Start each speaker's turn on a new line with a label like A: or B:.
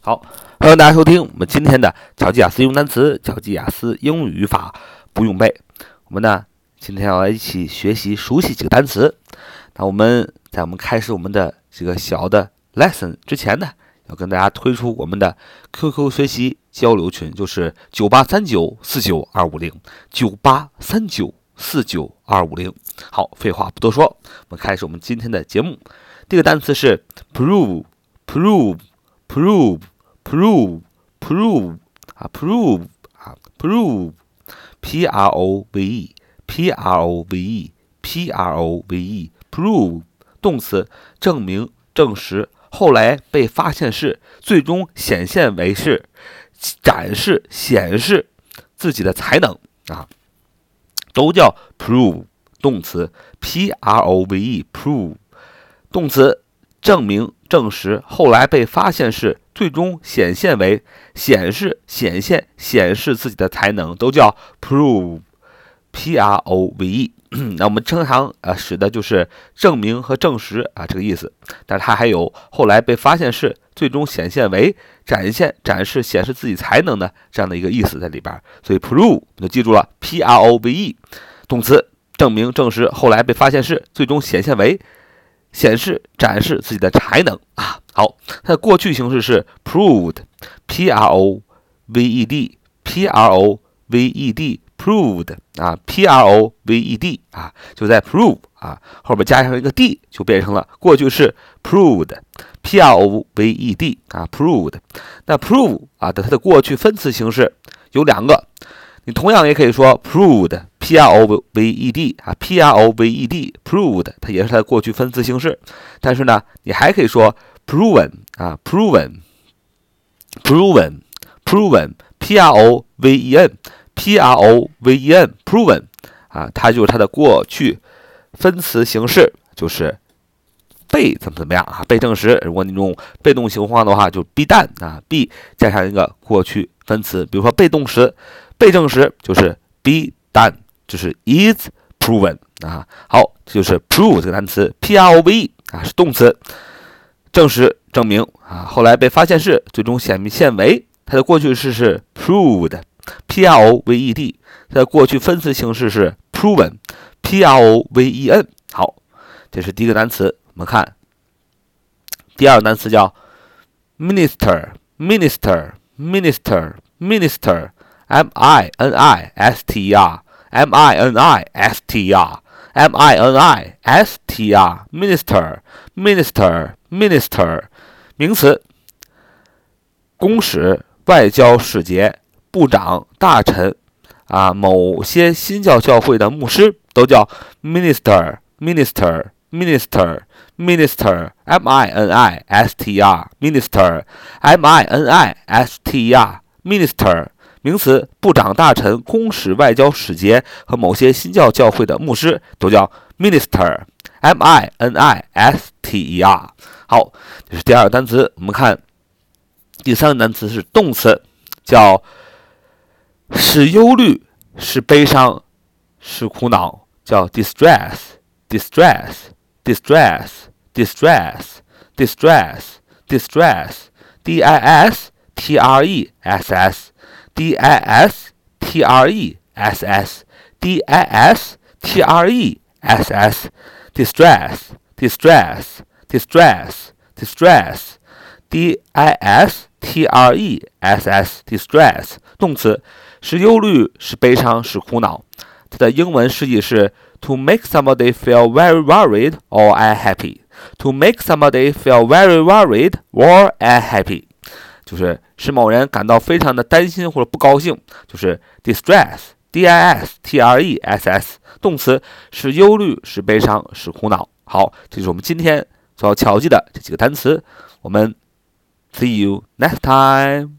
A: 好，欢迎大家收听我们今天的巧记雅思用单词、巧记雅思英语语法不用背。我们呢今天要来一起学习熟悉几个单词。那我们在开始我们的这个小的 lesson 之前呢，要跟大家推出我们的 QQ 学习交流群，就是9839492509，9839492550。好，废话不多说，我们开始我们今天的节目。第一个单词是 prove 啊 prove prove 动词，证明、证实，后来被发现是，最终显现为是，展示、显示自己的才能啊，都叫 prove 动词 prove 动词，证明、证实，后来被发现是，最终显现为，显示、显现、显示自己的才能，都叫 prove。那我们经常使的就是证明和证实这个意思，但是它还有后来被发现是，最终显现为，展现、展示、显示自己才能的这样的一个意思在里边。所以 prove 你就记住了 prove 动词，证明、证实，后来被发现是，最终显现为，显示、展示自己的才能啊。好，它的过去形式是 proved proved proved 啊 proved 啊，就在 prove 啊后边加上一个 d 就变成了过去式 proved proved 啊 proved。那 prove 啊它的过去分词形式有两个，你同样也可以说 proved proved 啊 proved proved 它也是它的过去分词形式，但是呢你还可以说 proven 啊 proven proven proven 啊，它就是它的过去分词形式，就是被怎么样啊，被证实。如果你用被动情况的话，就 be done 啊 be 加上一个过去分词，比如说被动词被证实就是 be done， 就是 is proven 啊。好，这就是 prove 这个单词 prove 啊是动词，证实、证明啊，后来被发现是，最终显现为，它的过去式是 proved proved， 它的过去分词形式是 proven proven。 好，这是第一个单词。我们看第二个单词叫 minister minister minister minister minister minister minister minister 名词，公使、外交使节、部长、大臣啊，某些新教教会的牧师都叫 minister minister minister minister minister minister minister minister 名词，部长、大臣、公使、外交使节和某些新教教会的牧师都叫 minister minister。 好，这是第二个单词。我们看第三个单词是动词，叫使忧虑、使悲伤、使苦恼，叫 distress distress distress distress distress distress distress distress distress distress distress distress distress distress distress distress 动词，使忧虑、使悲伤、使苦恼。它的英文释义是 to make somebody feel very worried or unhappy。 to make somebody feel very worried or unhappy 就是使某人感到非常的担心或者不高兴，就是 distress distress 动词，使忧虑、使悲伤、使苦恼。好，这是我们今天所要巧记的这几个单词。我们 see you next time。